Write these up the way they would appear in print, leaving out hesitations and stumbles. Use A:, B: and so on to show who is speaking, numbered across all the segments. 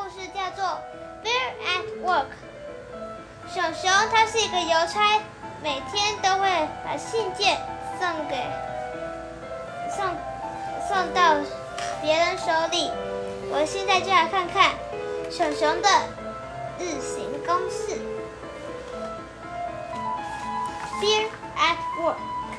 A: 故事叫做《Bear at Work》。熊熊他是一个邮差，每天都会把信件送到别人手里。我现在就来看看熊熊的日行公事。Bear at work.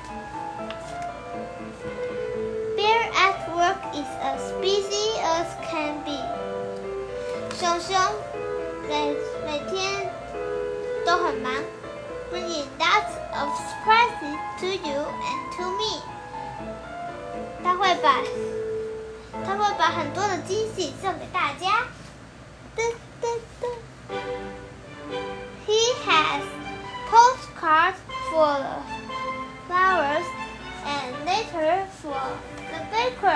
A: Bear at work is as busy as can be. 熊熊每天都很忙 ，bringing lots of surprises to you and to me. 他会把很多的惊喜送给大家。He has postcards for the flowers and letters for the baker.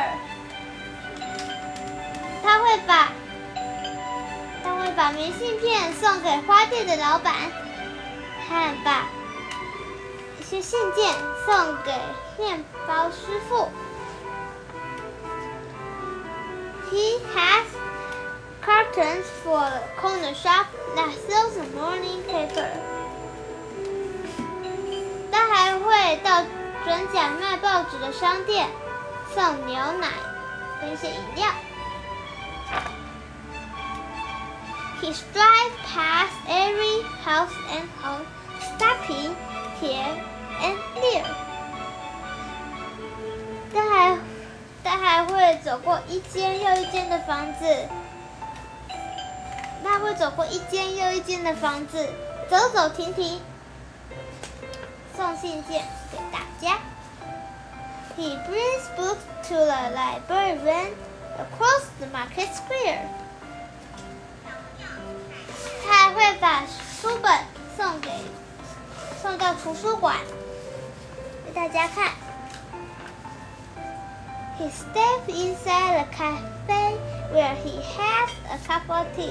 A: 他会把明信片送给花店的老板，和把一些信件送给面包师傅。He has curtains for the corner shop that sells the morning paper. 他还会到转角卖报纸的商店送牛奶跟一些饮料。He drives past every house and home, stopping here and there. 他还会走过一间又一间的房子。他会走过一间又一间的房子，走走停停，送信件给大家。He brings books to the librarian across the market square. 他还会把书本送到图书馆给大家看。He steps inside the cafe where he has a cup of tea.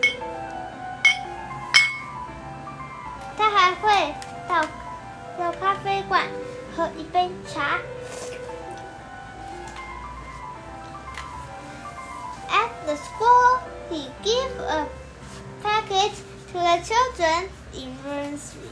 A: 他还会到咖啡馆喝一杯茶。At the school, he gives a package to the children in nursery.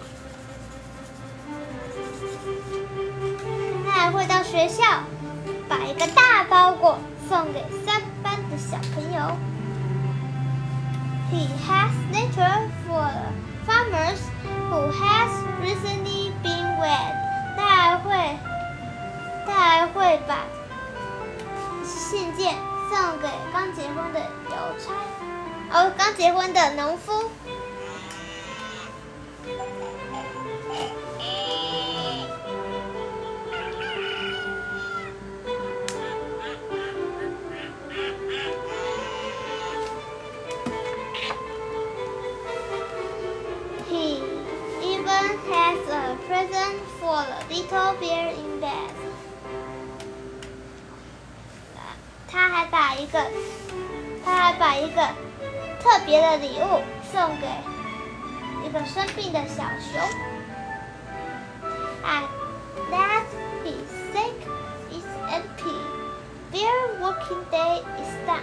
A: 他还会到学校把一个大包裹送给3班的小朋友。He has letters for the farmers who has recently been wed. 他还会把信件送给刚结婚的刚结婚的农夫。He even has a present for the little bear in bed. 他还把一个特别的礼物送给一个生病的小熊。At last his sack is empty. Bear working day is done.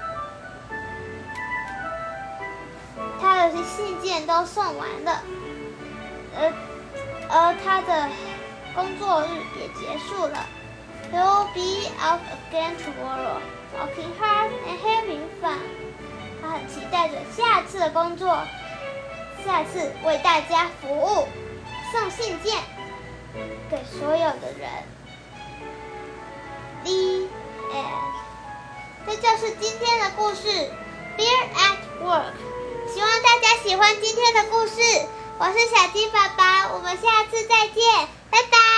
A: 他的信件都送完了，而他的工作日也结束了。He'll be out again tomorrow, working hard and having fun. 他很期待着下次的工作，下次为大家服务，送信件给所有的人。The end. 这就是今天的故事 ，Bear at Work。希望大家喜欢今天的故事。我是小鸡爸爸，我们下次再见，拜拜。